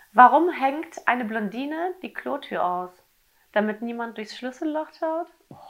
Warum hängt eine Blondine die Klotür aus? Damit niemand durchs Schlüsselloch schaut? Oh,